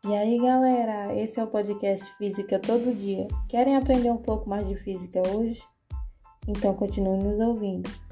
E aí, galera, esse é o podcast Física Todo Dia. Querem aprender um pouco mais de física hoje? Então continue nos ouvindo.